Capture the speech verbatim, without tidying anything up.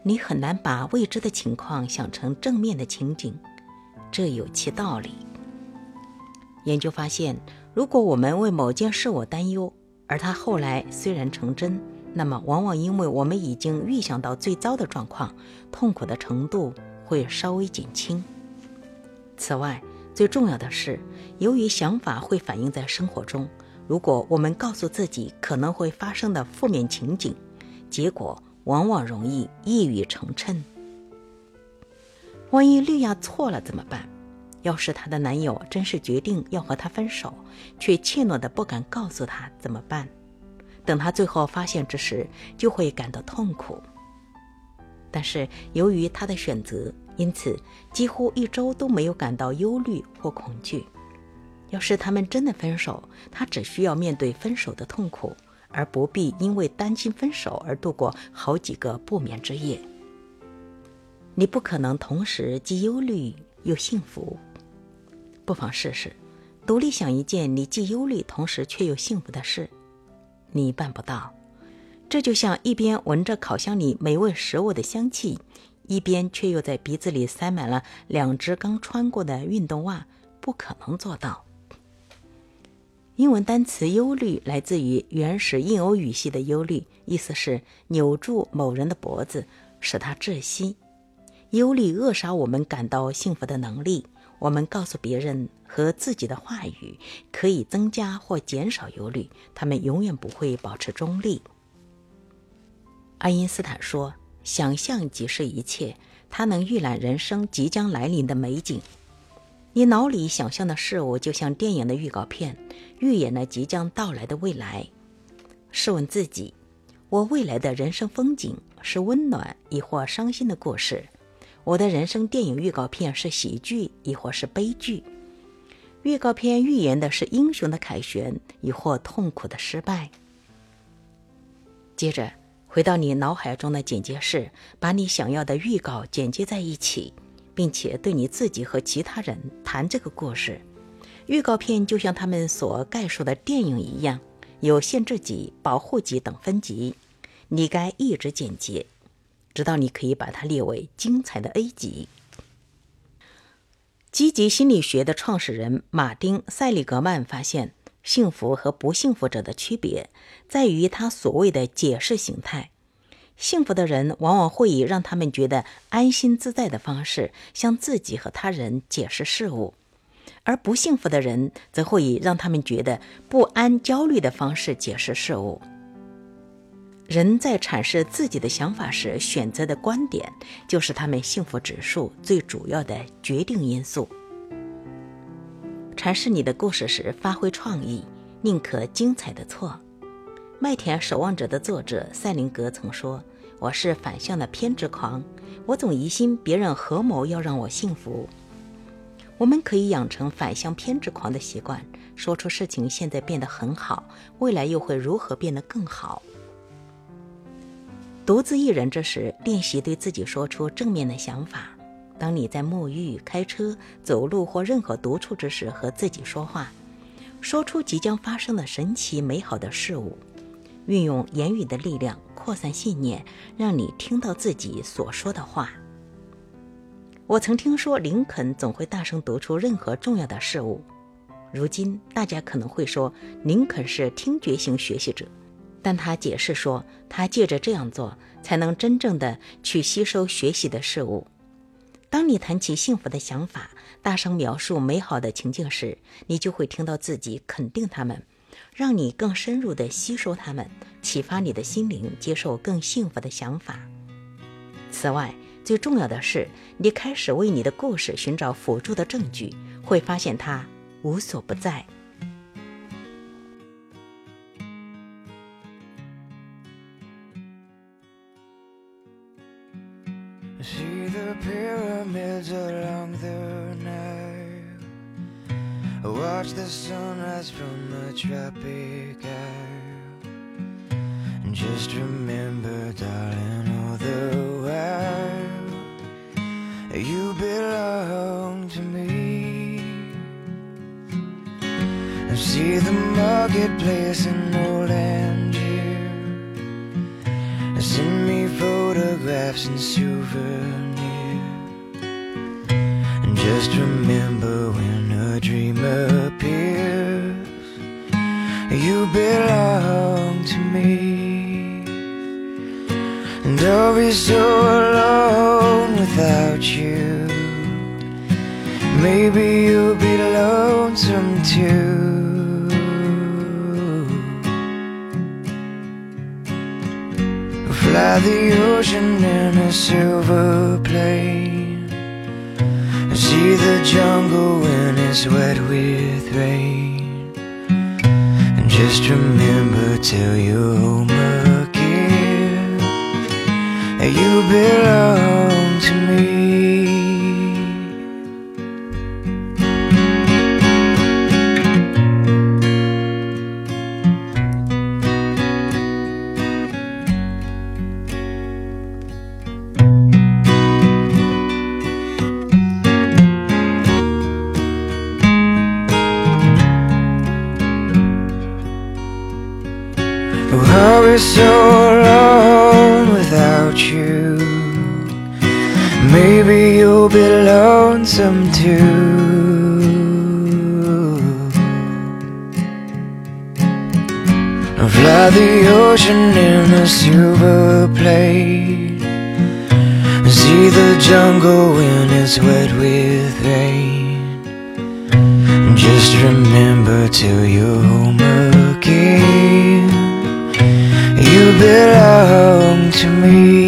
你很难把未知的情况想成正面的情景，这有其道理。研究发现，如果我们为某件事我担忧，而它后来虽然成真，那么往往因为我们已经预想到最糟的状况，痛苦的程度会稍微减轻。此外，最重要的是，由于想法会反映在生活中，如果我们告诉自己可能会发生的负面情景，结果往往容易一语成谶。万一绿亚错了怎么办？要是她的男友真是决定要和她分手，却怯懦地不敢告诉她怎么办？等她最后发现之时，就会感到痛苦。但是由于她的选择，因此几乎一周都没有感到忧虑或恐惧。要是他们真的分手，她只需要面对分手的痛苦，而不必因为担心分手而度过好几个不眠之夜。你不可能同时既忧虑又幸福。不妨试试，独立想一件你既忧虑同时却又幸福的事。你办不到。这就像一边闻着烤箱里美味食物的香气，一边却又在鼻子里塞满了两只刚穿过的运动袜，不可能做到。英文单词忧虑来自于原始印欧语系的忧虑，意思是扭住某人的脖子，使他窒息。忧虑扼杀我们感到幸福的能力。我们告诉别人和自己的话语可以增加或减少忧虑，他们永远不会保持中立。爱因斯坦说，想象即是一切，它能预览人生即将来临的美景。你脑里想象的事物就像电影的预告片，预演了即将到来的未来。试问自己，我未来的人生风景是温暖亦或伤心的故事？我的人生电影预告片是喜剧亦或是悲剧？预告片预言的是英雄的凯旋亦或痛苦的失败？接着回到你脑海中的剪接室，把你想要的预告剪接在一起，并且对你自己和其他人谈这个故事。预告片就像他们所概述的电影一样，有限制级、保护级等分级，你该一直剪辑，直到你可以把它列为精彩的 A 级。积极心理学的创始人马丁·塞利格曼发现，幸福和不幸福者的区别在于他所谓的解释形态。幸福的人往往会以让他们觉得安心自在的方式向自己和他人解释事物，而不幸福的人则会以让他们觉得不安、焦虑的方式解释事物。人在阐释自己的想法时选择的观点，就是他们幸福指数最主要的决定因素。阐释你的故事时发挥创意，宁可精彩的错。麦田守望者的作者塞林格曾说，我是反向的偏执狂，我总疑心别人合谋要让我幸福。我们可以养成反向偏执狂的习惯，说出事情现在变得很好，未来又会如何变得更好。独自一人之时，练习对自己说出正面的想法。当你在沐浴、开车、走路或任何独处之时和自己说话，说出即将发生的神奇美好的事物，运用言语的力量扩散信念，让你听到自己所说的话。我曾听说林肯总会大声读出任何重要的事物。如今大家可能会说林肯是听觉型学习者，但他解释说，他借着这样做才能真正的去吸收学习的事物。当你谈起幸福的想法，大声描述美好的情境时，你就会听到自己肯定他们，让你更深入地吸收他们，启发你的心灵接受更幸福的想法。此外，最重要的是，你开始为你的故事寻找辅助的证据，会发现它无所不在。 See the pyramids along the Nile, watch the sunrise from the tropic isle, and just remember, darling, all the while you belong to me. And see the marketplace in old Angier, and send me photographs photographs and souvenirs. And just remember when a dream appears, you belong to me. And I'll be so alone without you. Maybe you'll be lonesome too. Fly the ocean in a silver plane, see the jungle when it's wet with rain. And just remember till you're home again, you belong to me. Oh, I'll be so alone without you. Maybe you'll be lonesome too. I'll fly the ocean in a silver plane, see the jungle when it's wet with rain. Just remember till you're home again, you belong to me.